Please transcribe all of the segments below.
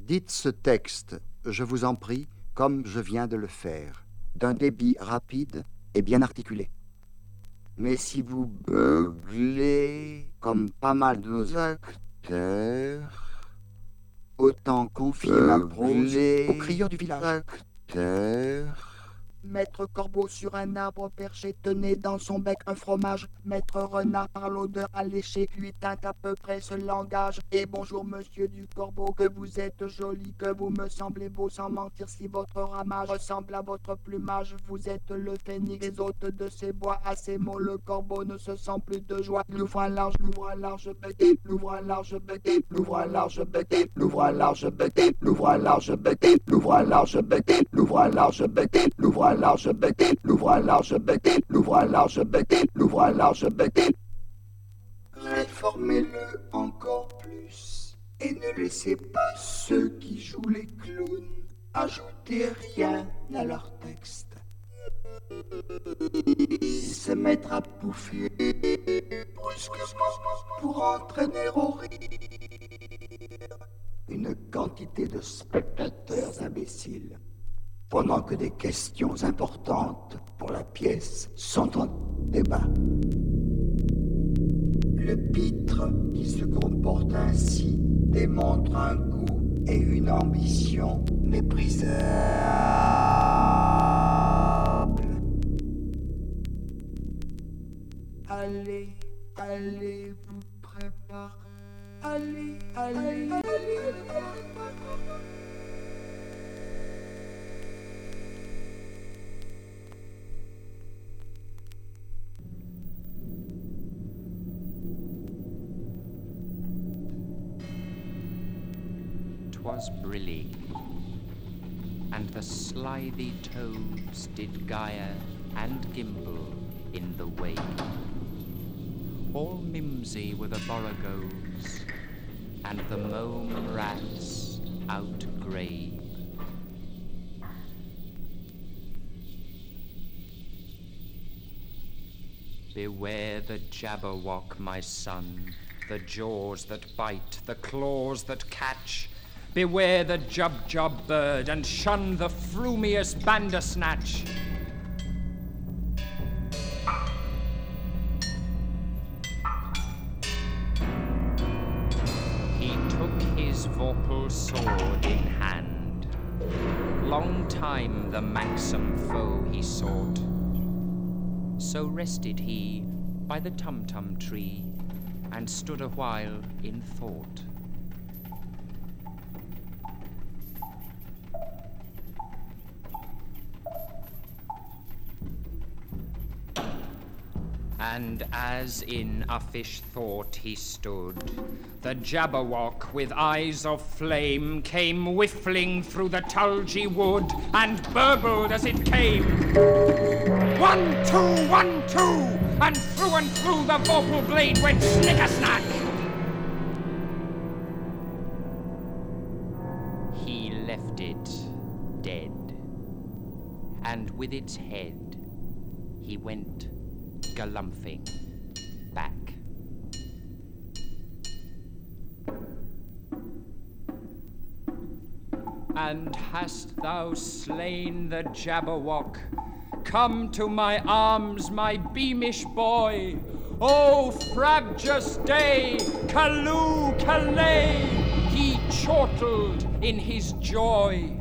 Dites ce texte, je vous en prie, comme je viens de le faire, d'un débit rapide et bien articulé. Mais si vous beuglez, comme pas mal de nos acteurs, autant confier ma prose aux crieurs du village. Maître Corbeau sur un arbre perché tenait dans son bec un fromage. Maître Renard par l'odeur alléchée lui tint à peu près ce langage. Et bonjour monsieur du Corbeau, que vous êtes joli, que vous me semblez beau, sans mentir si votre ramage ressemble à votre plumage. Vous êtes le phénix des hôtes de ces bois. À ces mots le Corbeau ne se sent plus de joie. Il ouvre un large bec, il ouvre un large bec, il ouvre un large bec, il ouvre un large bec, il ouvre un large bec, il ouvre un large bec, il ouvre un large bec, il ouvre un large bec, il ouvre un large bec, il ouvre un large bec, il ouvre un large bec. Réformez-le encore plus et ne laissez pas ceux qui jouent les clowns ajouter rien à leur texte. Se mettre à bouffer brusquement pour entraîner au rire une quantité de spectateurs imbéciles, pendant que des questions importantes pour la pièce sont en débat. Le pitre qui se comporte ainsi démontre un goût et une ambition méprisables. Allez, allez vous préparer. Allez, allez, allez. 'Twas brillig, and the slithy toads did gyre and gimble in the wave. All mimsy were the borogoves, and the mome rats outgrave. Beware the Jabberwock, my son, the jaws that bite, the claws that catch. Beware the Jubjub bird, and shun the frumious Bandersnatch. He took his vorpal sword in hand. Long time the manxome foe he sought. So rested he by the Tumtum tree, and stood a while in thought. And as in uffish thought he stood, the Jabberwock with eyes of flame came whiffling through the tulgey wood, and burbled as it came. 1, 2, 1, 2, and through the vorpal blade went snicker-snack. He left it dead, and with its head he went galumphing back. And hast thou slain the Jabberwock? Come to my arms, my beamish boy. Oh, frabjous day, Callooh, Calais, he chortled in his joy.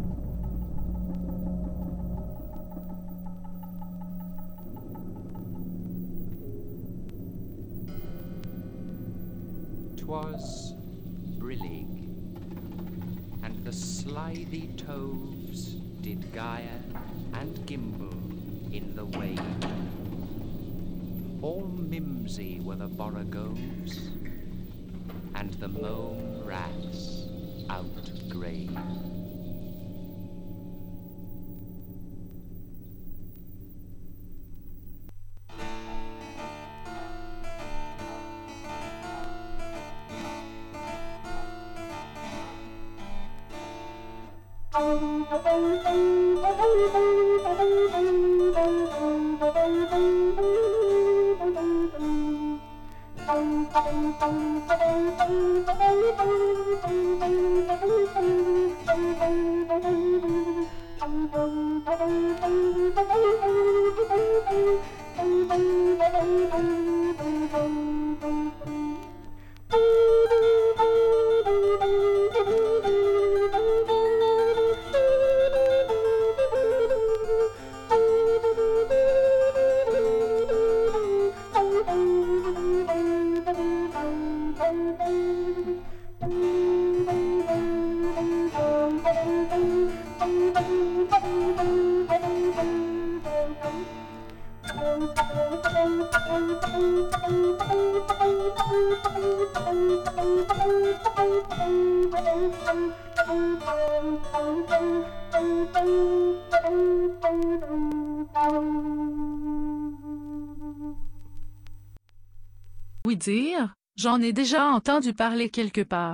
'Twas brillig, and the slithy toves did gyre and gimble in the wave. All mimsy were the borogoves, and the mome rats outgrave. Oui dire, j'en ai déjà entendu parler quelque part.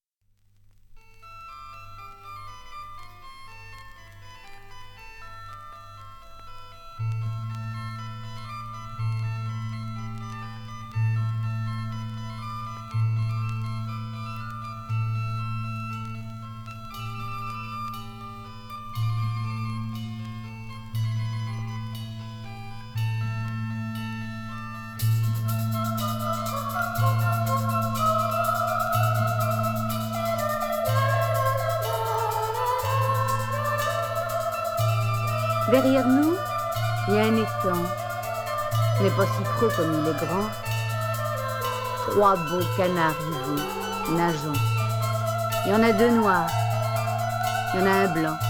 Derrière nous, il y a un étang. Ce n'est pas si creux comme il est grand. 3 beaux canards rivaux, nageant. Il y en a 2 noirs. Il y en a un blanc.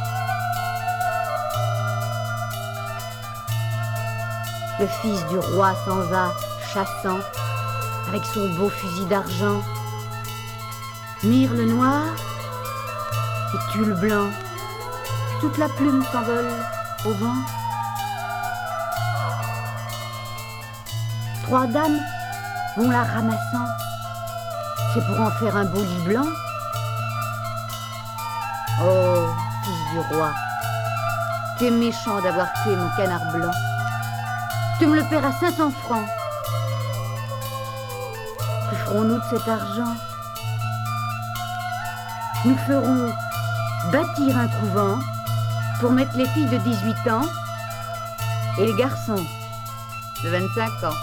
Le fils du roi sans âge, chassant, avec son beau fusil d'argent. Mire le noir et tue le blanc. Toute la plume s'envole au vent. 3 dames vont la ramassant. C'est pour en faire un beau lit blanc. Oh, fils du roi, t'es méchant d'avoir tué mon canard blanc. Tu me le paieras 500 francs. Que ferons-nous de cet argent? Nous ferons bâtir un couvent pour mettre les filles de 18 ans et les garçons de 25 ans.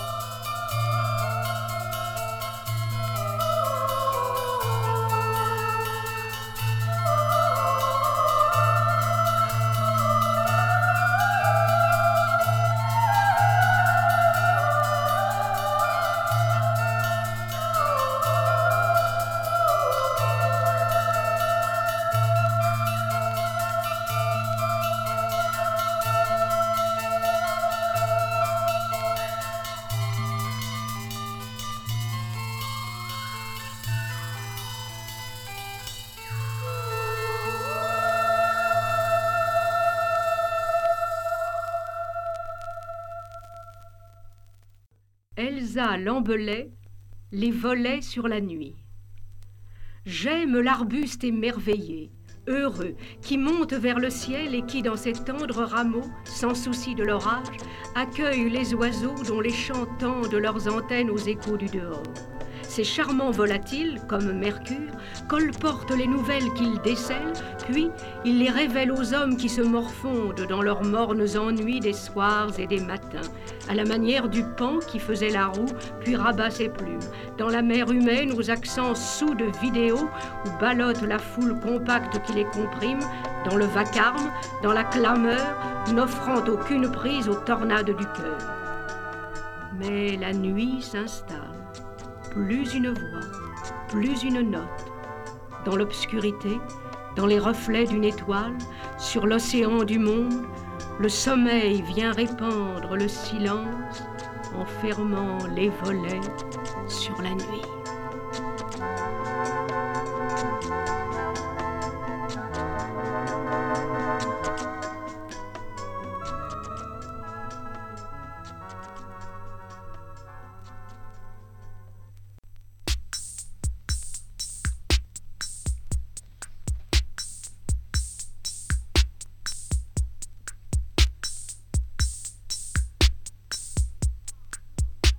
Elsa Lambelet, les volets sur la nuit. J'aime l'arbuste émerveillé, heureux, qui monte vers le ciel et qui, dans ses tendres rameaux, sans souci de l'orage, accueille les oiseaux dont les chants tendent leurs antennes aux échos du dehors. Ces charmants volatiles, comme Mercure, colportent les nouvelles qu'ils décèlent, puis ils les révèlent aux hommes qui se morfondent dans leurs mornes ennuis des soirs et des matins, à la manière du paon qui faisait la roue, puis rabat ses plumes. Dans la mer humaine, aux accents soûls de vidéo, où ballotte la foule compacte qui les comprime, dans le vacarme, dans la clameur, n'offrant aucune prise aux tornades du cœur. Mais la nuit s'installe. Plus une voix, plus une note. Dans l'obscurité, dans les reflets d'une étoile, sur l'océan du monde, le sommeil vient répandre le silence en fermant les volets sur la nuit.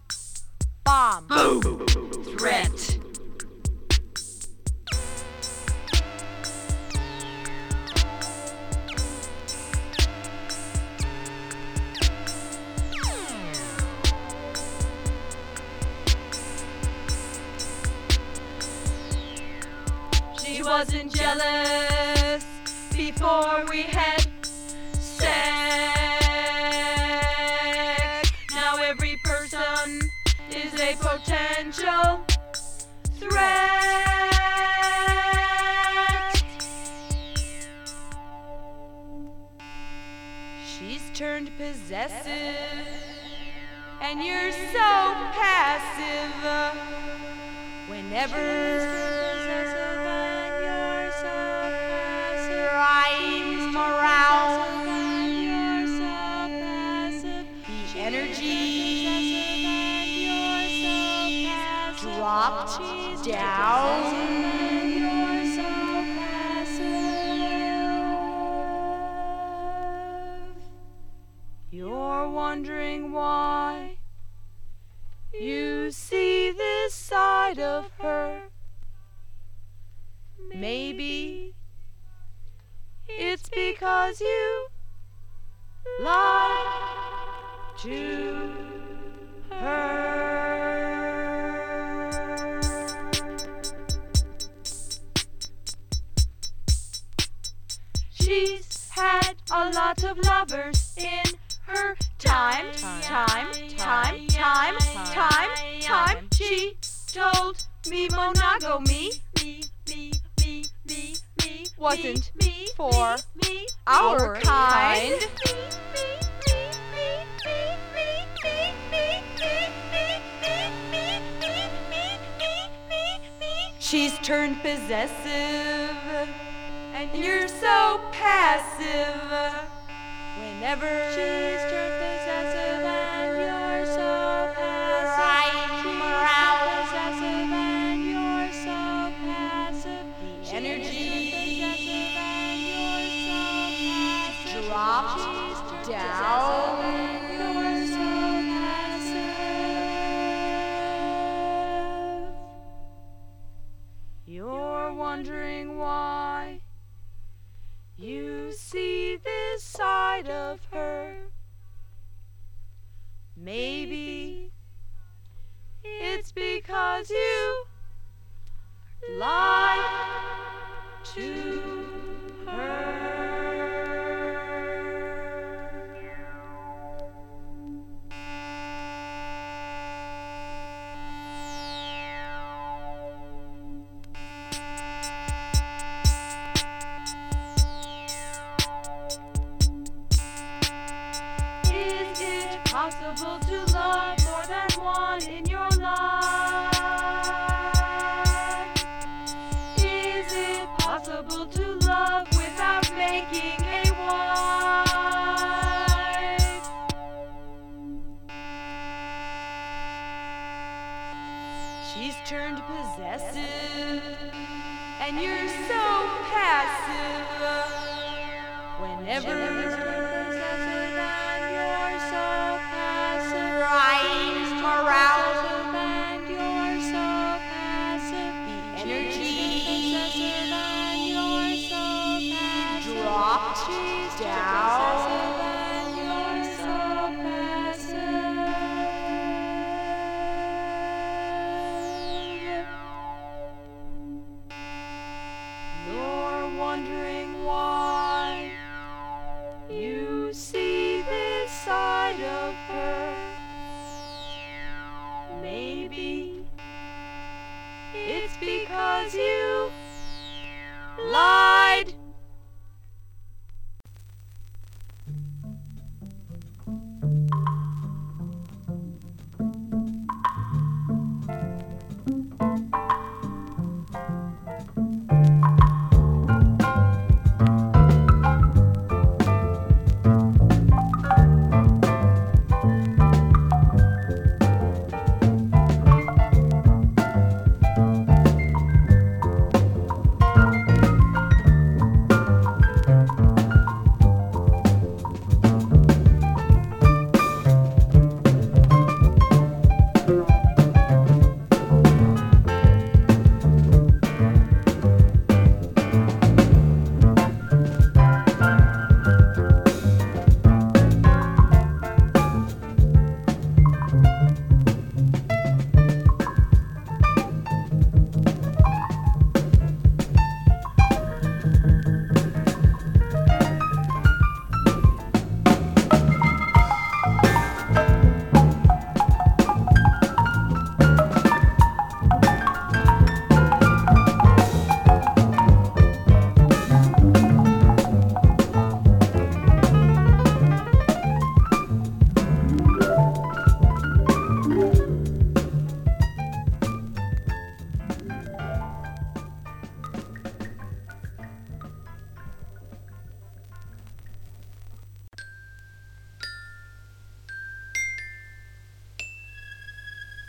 Bomb. Boom. Threat. she wasn't jealous before we had sex. Now every person is a potential threat. She's turned possessive, and you're so passive. Whenever I'm around, the energy dropped down. You're wondering why you see this side of her. Maybe it's because you lie to her. She's had a lot of lovers in her time. She told me monogamy wasn't for our kind. She's turned possessive, and you're so passive. Whenever she's turned possessive and you're so passive, I'm around. Possessive and you're so passive. The energy dropped down. You're so passive. You're wondering why you see this side of her. Maybe it's because you lied to her. Possible to love more than one in your life? Is it possible to love without making a wife? She's turned possessive, and you're so passive. Whenever wondering why you see this side of her. Maybe it's because you lied.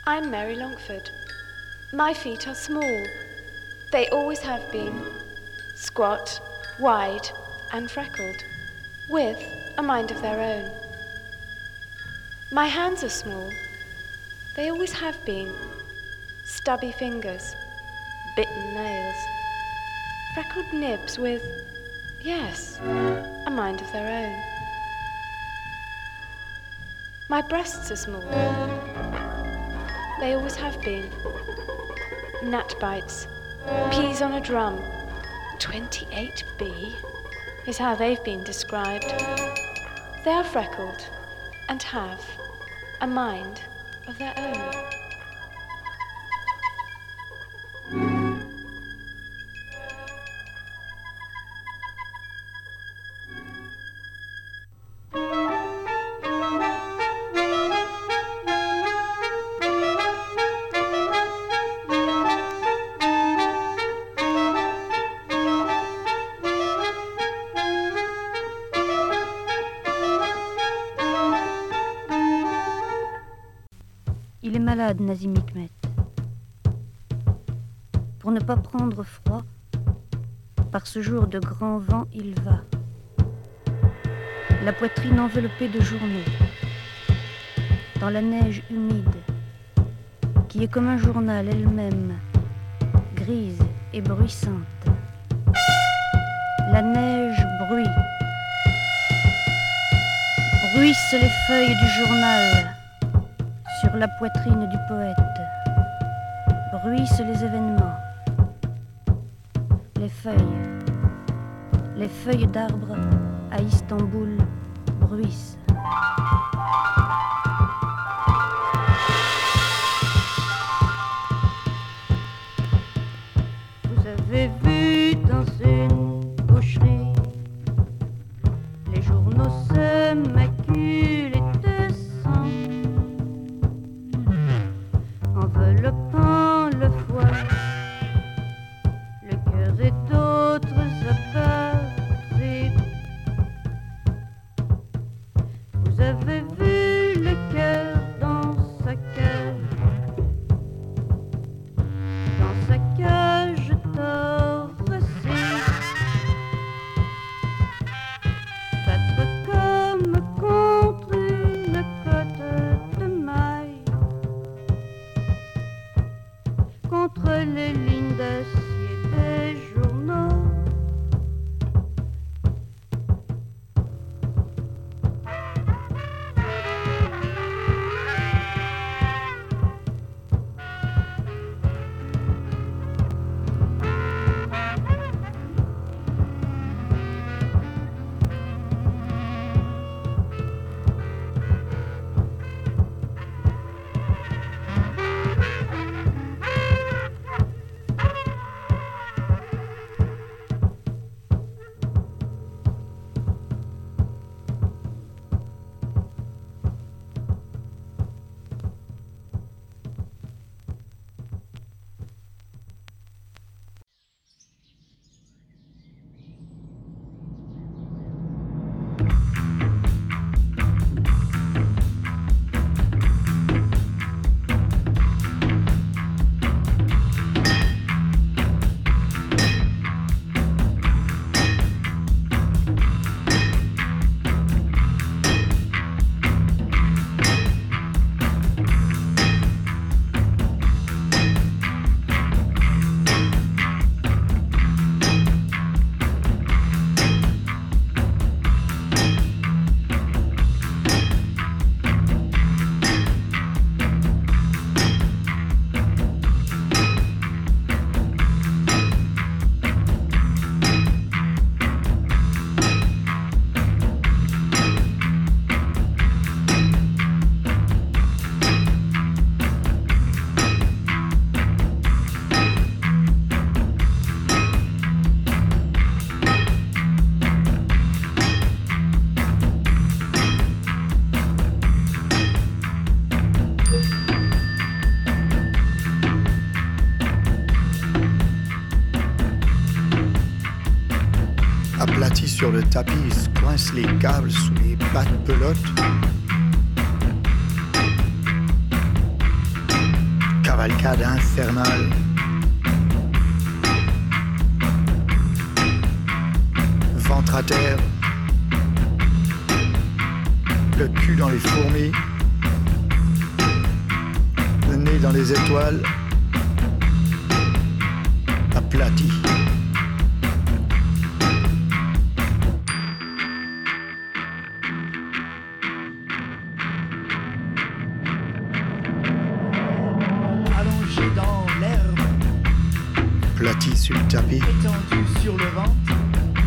I'm Mary Longford. My feet are small. They always have been. Squat, wide, and freckled, with a mind of their own. My hands are small. They always have been. Stubby fingers, bitten nails, freckled nibs with, yes, a mind of their own. My breasts are small. They always have been. Gnat bites, peas on a drum, 28B is how they've been described. They are freckled and have a mind of their own. Il est malade, Nazim Hikmet. Pour ne pas prendre froid, par ce jour de grand vent, il va. La poitrine enveloppée de journaux, dans la neige humide, qui est comme un journal elle-même, grise et bruissante. La neige bruit, bruissent les feuilles du journal sur la poitrine du poète, bruissent les événements, les feuilles d'arbres à Istanbul bruissent. Vous avez vu dans une boucherie les journaux se maculent de sang, enveloppant le foie, le cœur et d'autres abatteries. Vous avez vu le cœur dans sa cage torréfiée, battre comme contre une côte de maille, contre les lignes d'acier des journaux. Aplati sur le tapis, il se coince les câbles sous les bas de pelote. cavalcade infernale. Ventre à terre, le cul dans les fourmis, le nez dans les étoiles, aplati. Allongé dans l'herbe, Aplati sur le tapis, étendu sur le ventre.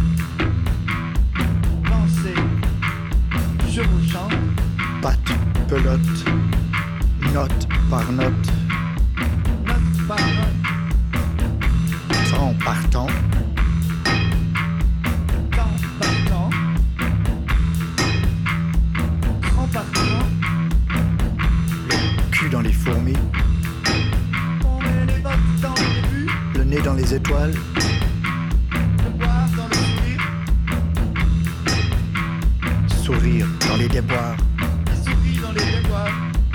Pensez, je vous chante. patte, pelote, note par note, Note par note, temps par temps, temps par temps, temps par temps. le cul dans les fourmis, On met les bottes dans le début, le nez dans les étoiles, le boire dans le sourire, sourire dans les déboires, et souris dans les déboires.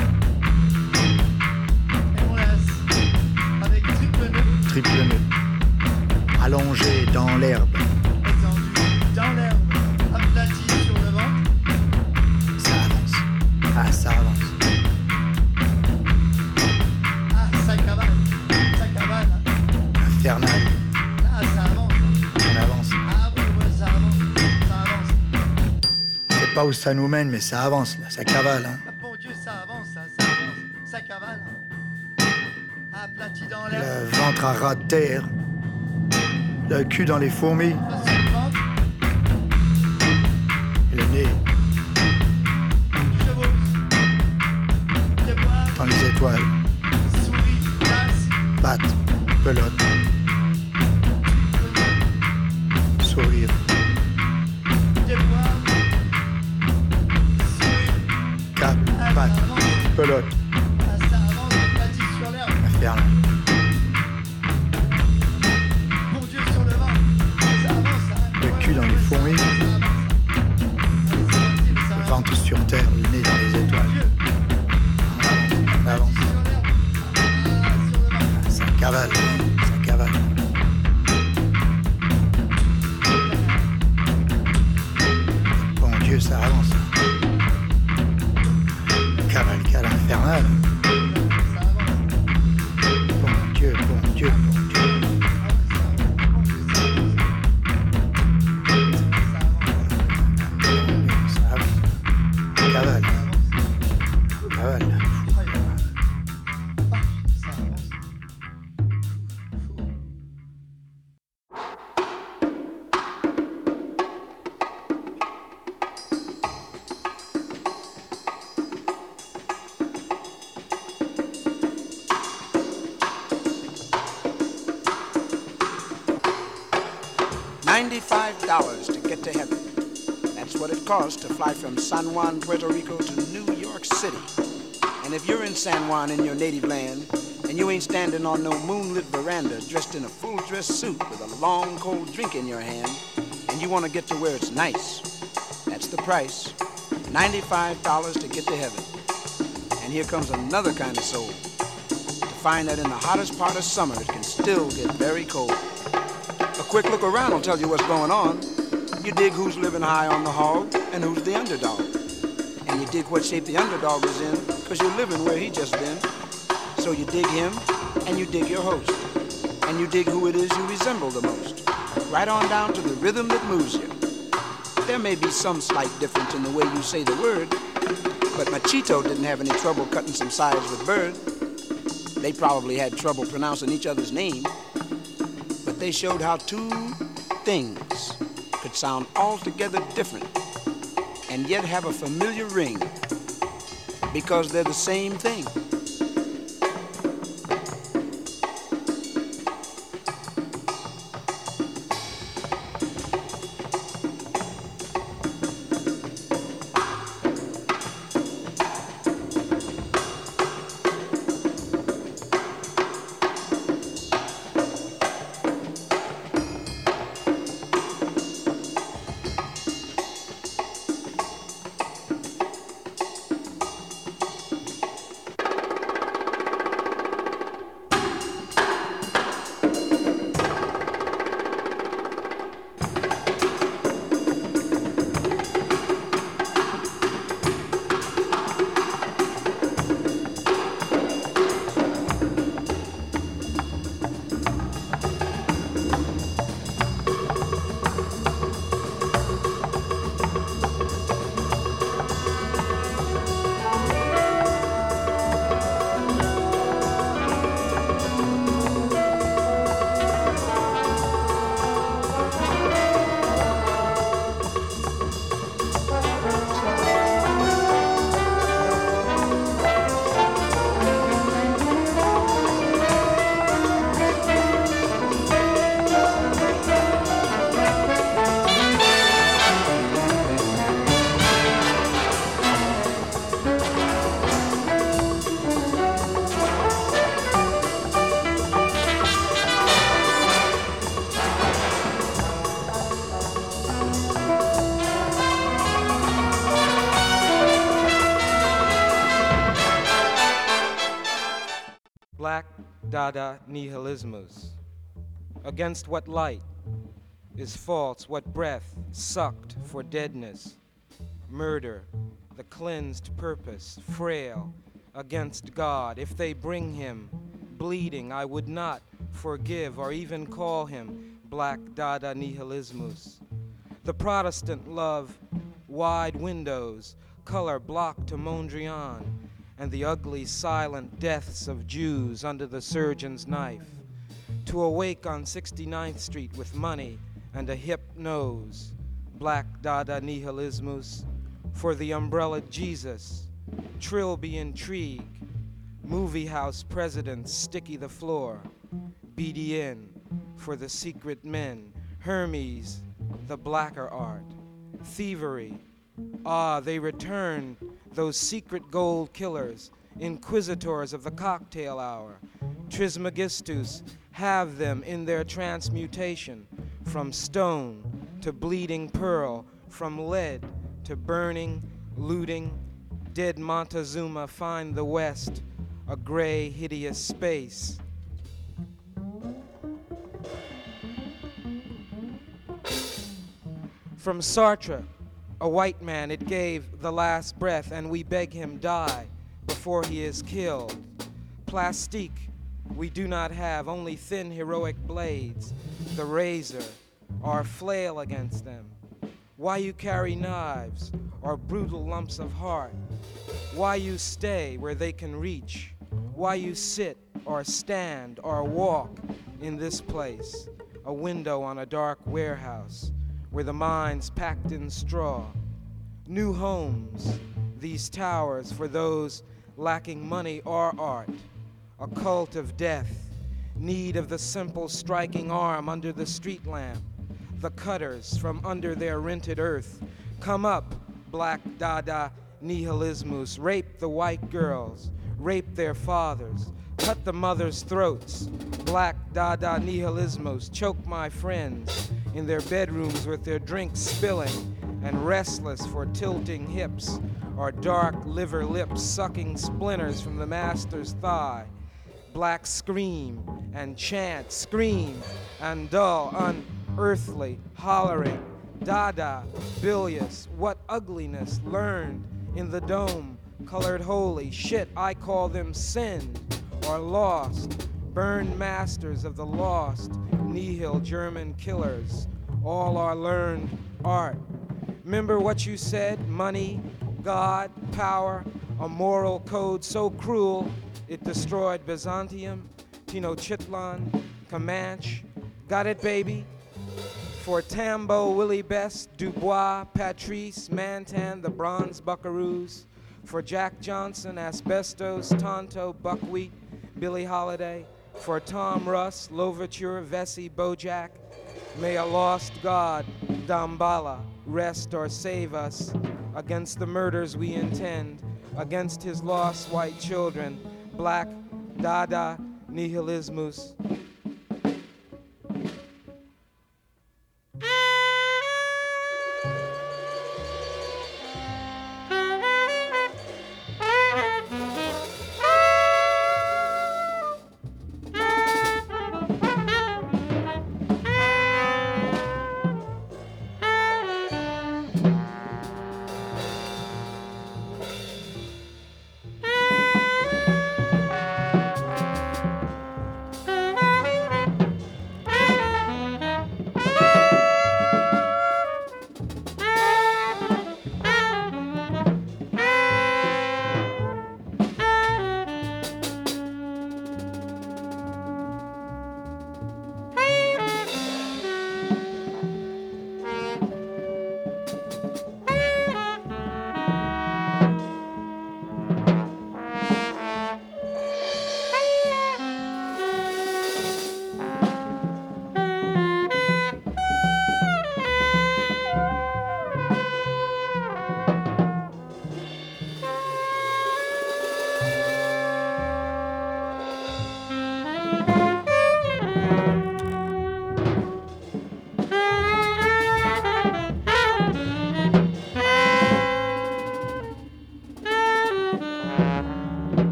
Et on laisse avec triple nœud, triple nœud, allongé dans l'herbe, étendu dans l'herbe, aplati sur le ventre. ça avance, ah ça avance, Ah, ça cavale, hein. infernal, Ah, ça avance. on avance. Ah, ouais, ça avance, ça avance. Je sais pas où ça nous mène, mais ça avance là, ça cavale, hein. Ah, bon Dieu, ça avance, ça avance, ça cavale. Aplati dans l'herbe, Le ventre à ras de terre, le cul dans les fourmis, pas sur le ventre, et le nez chevauche, déboire, dans les étoiles, souris, glace, patte, pelote, sourire, déboire, souris, cap, ah, ça patte, avance, pelote, ah, ça avance, aplati sur l'herbe, infernal. bon Dieu, sur le ventre, ça avance, ça avance. Le cul dans les fourmis, Ça avance, ça avance. Allez, c'est parti, mais ça le avance. ventre sur terre, le nez dans les étoiles. Dieu, On avance, sur l'herbe, ah, sur le ventre. ça cavale, ça cavale. Bon Dieu, ça avance. Cavalcade infernale. Bon Dieu, bon Dieu, bon Dieu. Ça avance. Cavale. Cavale. $95 to get to heaven. That's what it costs to fly from San Juan, Puerto Rico to New York City. And if you're in San Juan in your native land, and you ain't standing on no moonlit veranda dressed in a full-dress suit with a long cold drink in your hand, and you want to get to where it's nice, that's the price. $95 to get to heaven. And here comes another kind of soul. To find that in the hottest part of summer, it can still get very cold. A quick look around will tell you what's going on. You dig who's living high on the hog and who's the underdog. And you dig what shape the underdog is in, because you're living where he just been. So you dig him, and you dig your host. And you dig who it is you resemble the most. Right on down to the rhythm that moves you. There may be some slight difference in the way you say the word, but Machito didn't have any trouble cutting some sides with Bird. They probably had trouble pronouncing each other's name, but they showed how two things could sound altogether different and yet have a familiar ring because they're the same thing. Dada nihilismus. Against what light is false, what breath sucked for deadness, murder, the cleansed purpose, frail, against God. If they bring him bleeding, I would not forgive or even call him Black Dada nihilismus. The Protestant love wide windows, color blocked to Mondrian, and the ugly silent deaths of Jews under the surgeon's knife. To awake on 69th Street with money and a hip nose, Black Dada nihilismus. For the umbrella Jesus, Trilby intrigue, movie house presidents sticky the floor, BDN for the secret men, Hermes, the blacker art, thievery. Ah, they return, those secret gold killers, inquisitors of the cocktail hour. Trismegistus have them in their transmutation, from stone to bleeding pearl, from lead to burning, looting. Dead Montezuma find the West, a gray, hideous space. From Sartre, a white man, it gave the last breath, and we beg him die before he is killed. Plastique, we do not have, only thin heroic blades, the razor, our flail against them. Why you carry knives or brutal lumps of heart? Why you stay where they can reach? Why you sit or stand or walk in this place, a window on a dark warehouse where the mind's packed in straw? New homes, these towers for those lacking money or art, a cult of death, need of the simple striking arm under the street lamp, the cutters from under their rented earth. Come up, Black Dada nihilismus, rape the white girls, rape their fathers, cut the mothers' throats. Black Dada nihilismus, choke my friends in their bedrooms with their drinks spilling, and restless for tilting hips, or dark liver lips sucking splinters from the master's thigh. Black scream and chant, scream and dull, unearthly, hollering. Dada, bilious, what ugliness learned in the dome, colored holy. Shit, I call them sinned or lost, burned masters of the lost, nihil German killers. All are learned art. Remember what you said? Money, God, power, a moral code so cruel it destroyed Byzantium, Tenochtitlan, Comanche. Got it, baby? For Tambo, Willie Best, Dubois, Patrice, Mantan, the Bronze Buckaroos. For Jack Johnson, Asbestos, Tonto, Buckwheat, Billie Holiday. For Tom Russ, Louverture, Vesey, Bojack. May a lost god, Damballa, rest or save us against the murders we intend, against his lost white children. Black Dada nihilismus.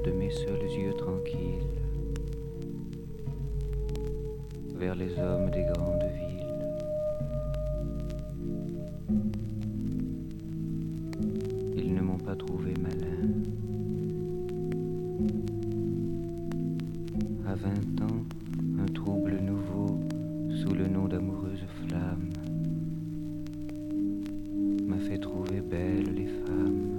de mes seuls yeux tranquilles vers les hommes des grandes villes. Ils ne m'ont pas trouvé malin. À 20 ans, un trouble nouveau sous le nom d'amoureuse flamme m'a fait trouver belles les femmes.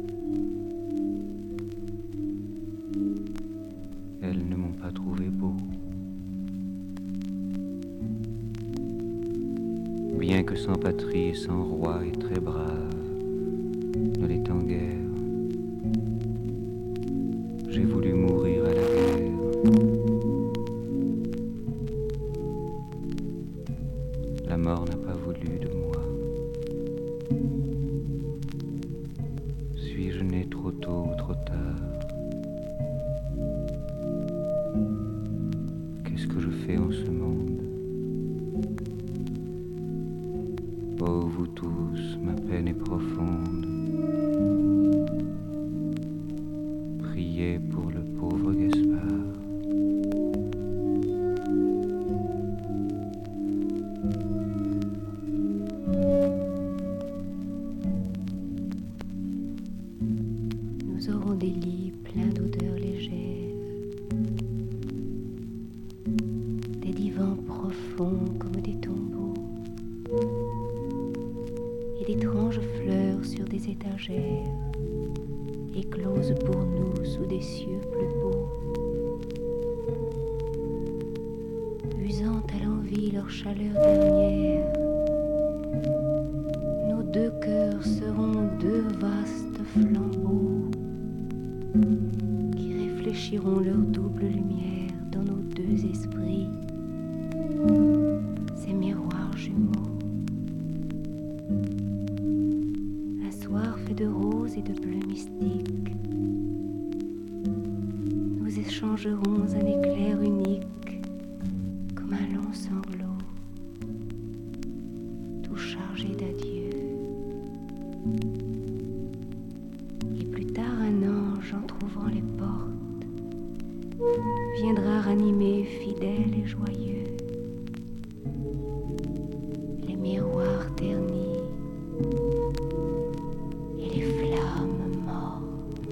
Elles ne m'ont pas trouvé beau. Bien que sans patrie et sans roi et très brave, ne l'étant guère, j'ai voulu mourir à la guerre. La mort n'a pas voulu de moi. Suis-je né trop tôt ou trop tard? Qu'est-ce que je fais en ce monde? Oh, vous tous, ma peine est profonde. Priez pour le pauvre Gaspard. Nous aurons des lits pleins d'odeurs légères, des divans profonds comme des tombeaux, et d'étranges fleurs sur des étagères, écloses pour nous sous des cieux plus beaux. Usant à l'envie leur chaleur dernière, nos deux cœurs seront deux vastes flambeaux qui réfléchiront leur double lumière dans nos deux esprits, ces miroirs jumeaux. Un soir fait de rose et de bleu mystique, nous échangerons un éclair unique comme un long sanglot, tout chargé d'adieu. Et plus tard un ange entr'ouvrant les portes viendra ranimer fidèle et joyeux les miroirs ternis et les flammes mortes.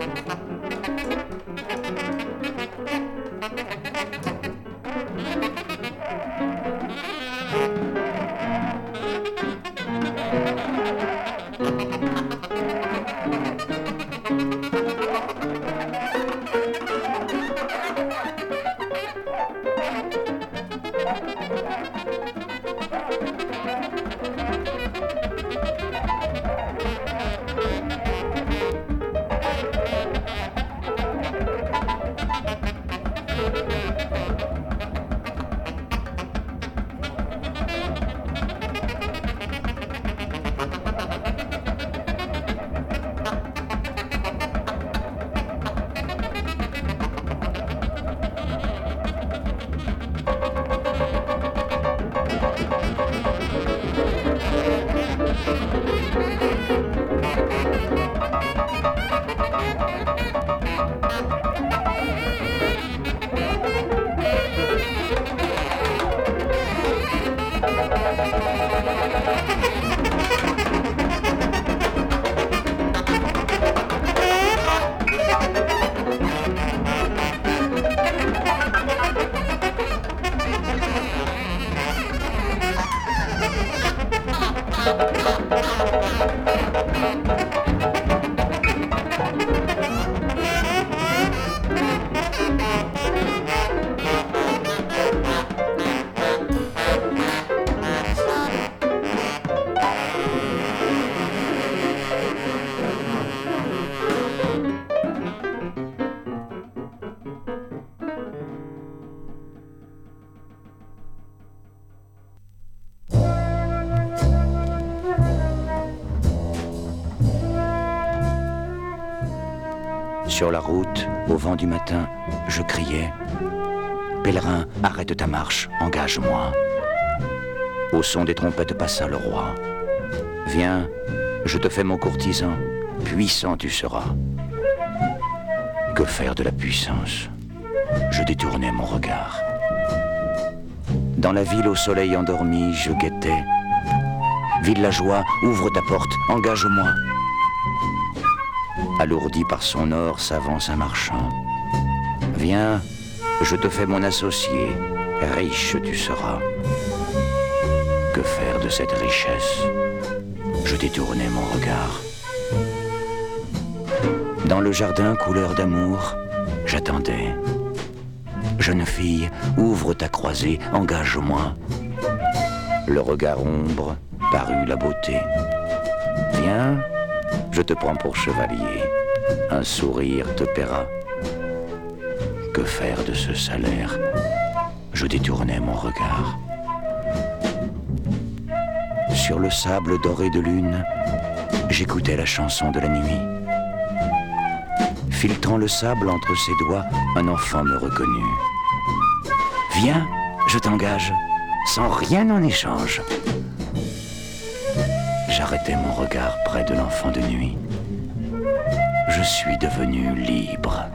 Sur la route, au vent du matin, je criais « Pèlerin, arrête ta marche, engage-moi ». Au son des trompettes passa le roi. « Viens, je te fais mon courtisan, puissant tu seras ». Que faire de la puissance? Je détournais mon regard. Dans la ville au soleil endormi, je guettais. « Villageois, ouvre ta porte, engage-moi ». Alourdi par son or s'avance un marchand. Viens, je te fais mon associé, riche tu seras. Que faire de cette richesse? Je détournais mon regard. Dans le jardin couleur d'amour, j'attendais. Jeune fille, ouvre ta croisée, engage-moi. Le regard ombre parut la beauté. Viens, je te prends pour chevalier, un sourire te paiera. Que faire de ce salaire? Je détournais mon regard. Sur le sable doré de lune, j'écoutais la chanson de la nuit. Filtrant le sable entre ses doigts, un enfant me reconnut. Viens, je t'engage, sans rien en échange. J'arrêtai mon regard près de l'enfant de nuit. Je suis devenu libre.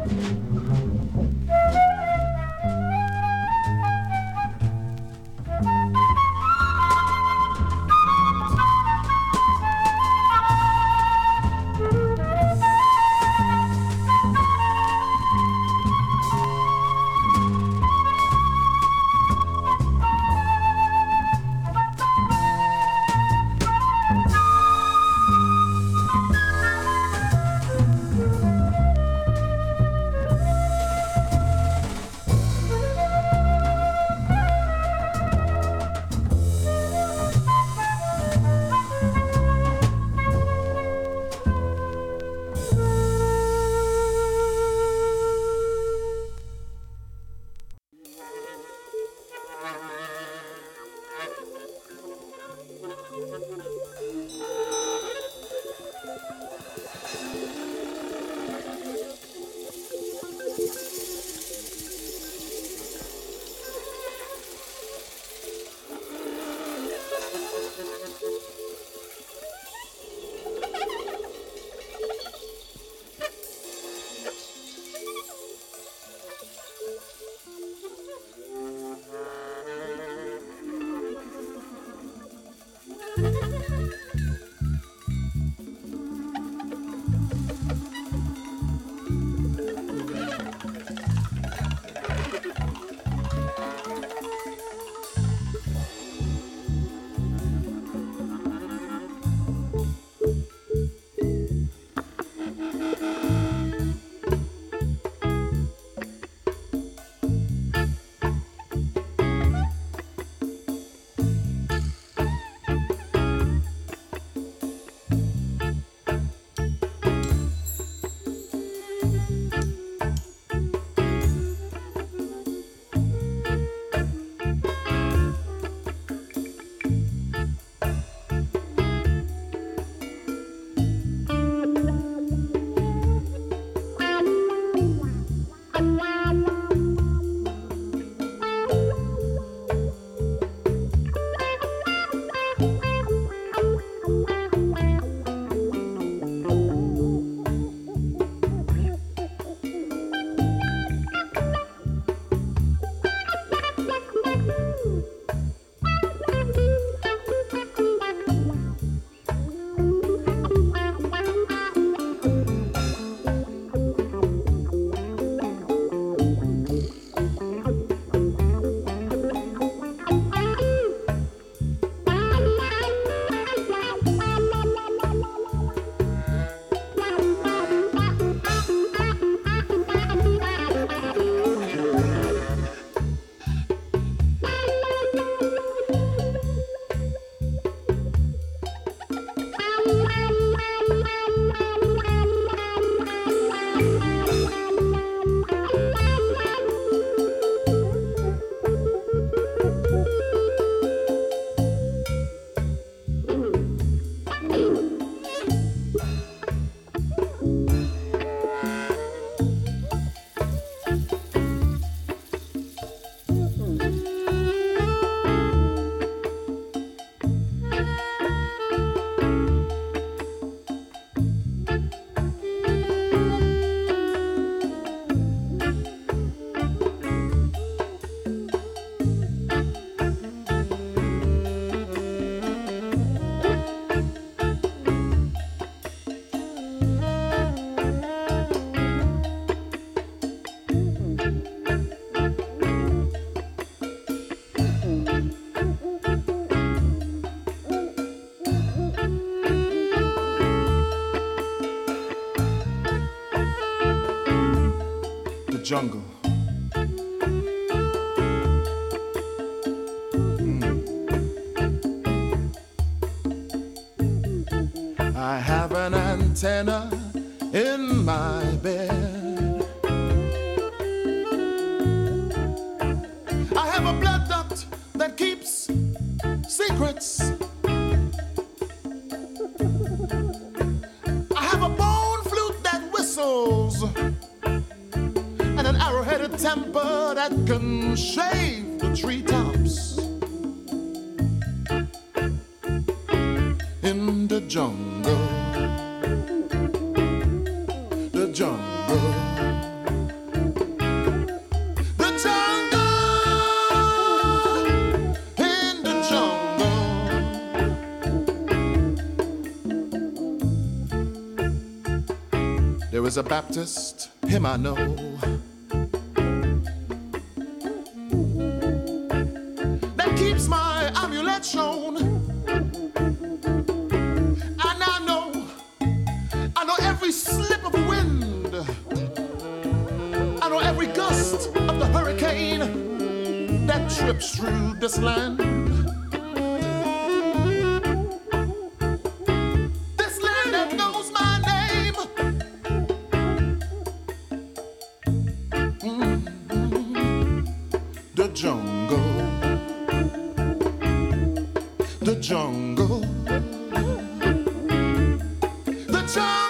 jungle. I have an antenna in my bed. I have a blood duct that keeps secrets. I have a bone flute that whistles and an arrow-headed temper that can shave the treetops. In the jungle, the jungle, the jungle, in the jungle. There is a Baptist, him I know, that keeps my amulet shown. Every slip of wind, I know every gust of the hurricane that trips through this land. This land that knows my name. The jungle, the jungle, the jungle.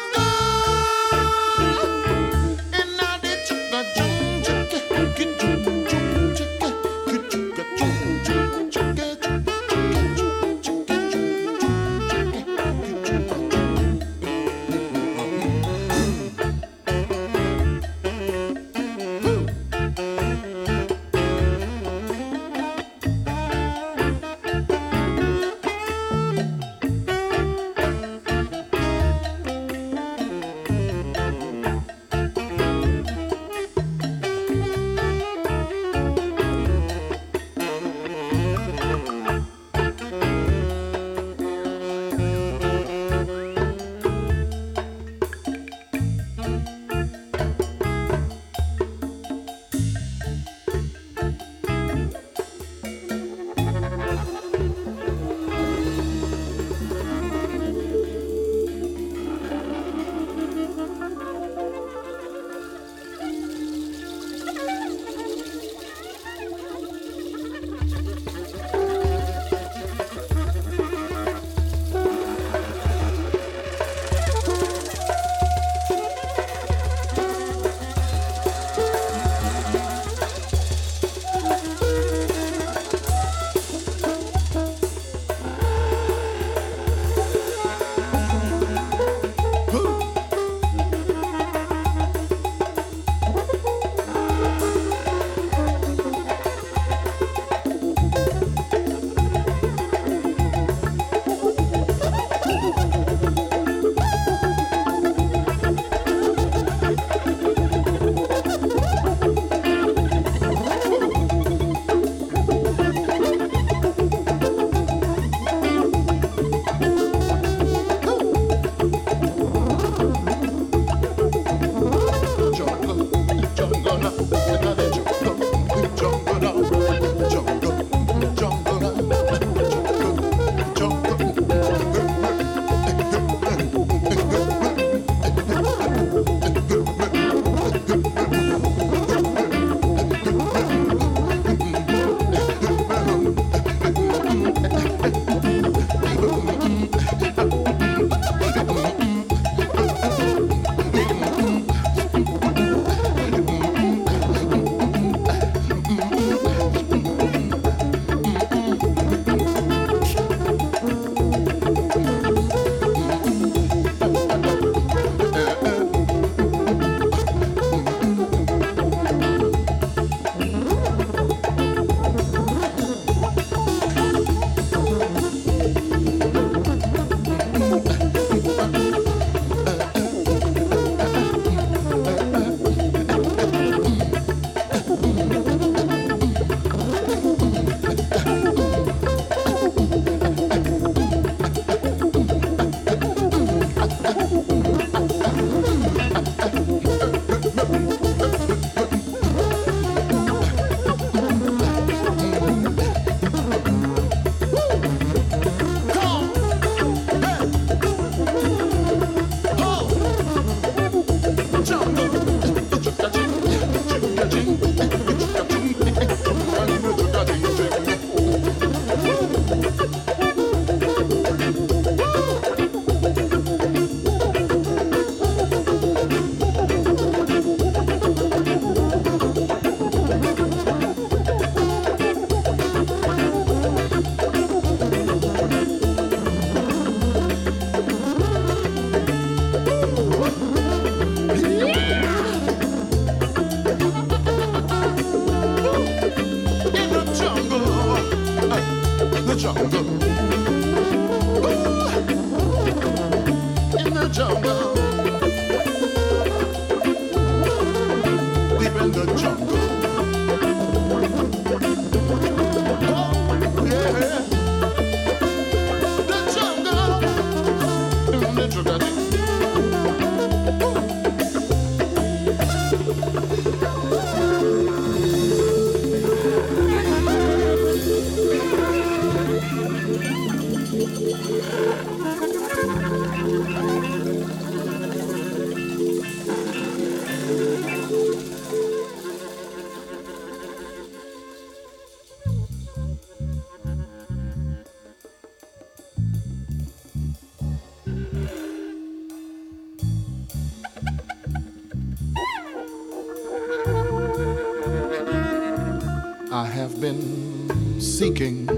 have been seeking.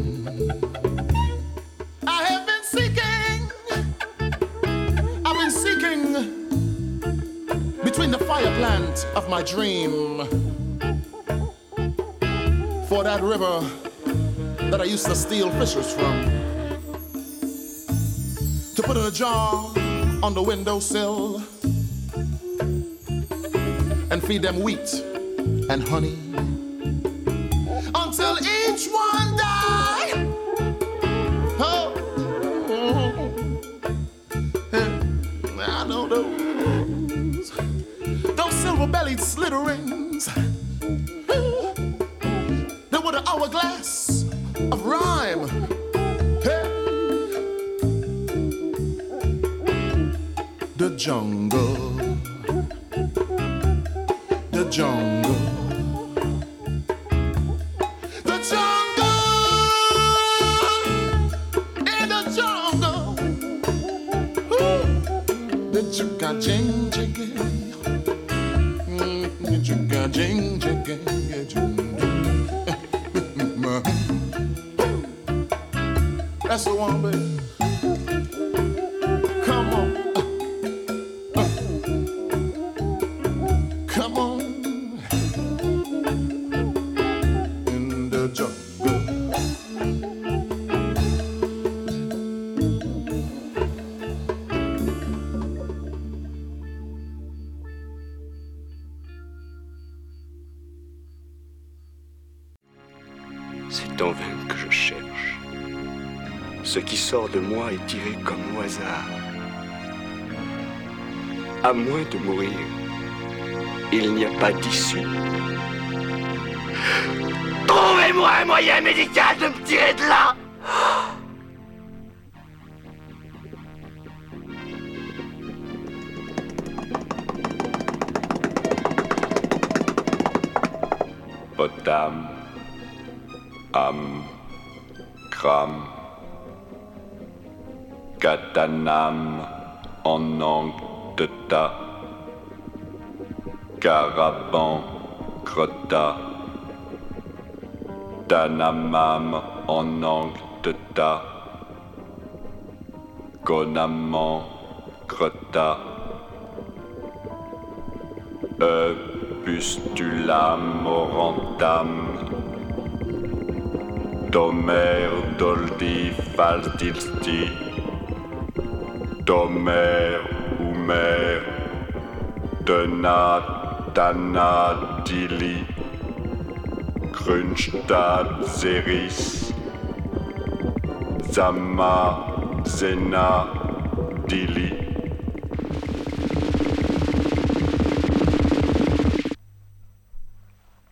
I have been seeking. I've been seeking between the fire plant of my dream for that river that I used to steal fishers from, to put in a jar on the windowsill and feed them wheat and honey until each one die. Oh, I know those silver-bellied slitterings. They were the hourglass of rhyme. Hey. The jungle, the jungle, the jungle, in the jungle. Ooh. The jigga jing jigga, the jigga jing jigga. That's the one, baby. Come on. Come on. In the jungle. C'est en vain que je cherche. Ce qui sort de moi est tiré comme au hasard. À moins de mourir, il n'y a pas d'issue. Trouvez-moi un moyen médical de me tirer de là! Potam, am, cram, katanam, en angle de ta, caraban, crota, tanamam, en angle de ta, conamant, crota, pustulam, orantam, domer, doldi, faldilsti, domer, umer, dena, tana, dili, Grünstadt, Seris, Zama, Zena, Dili.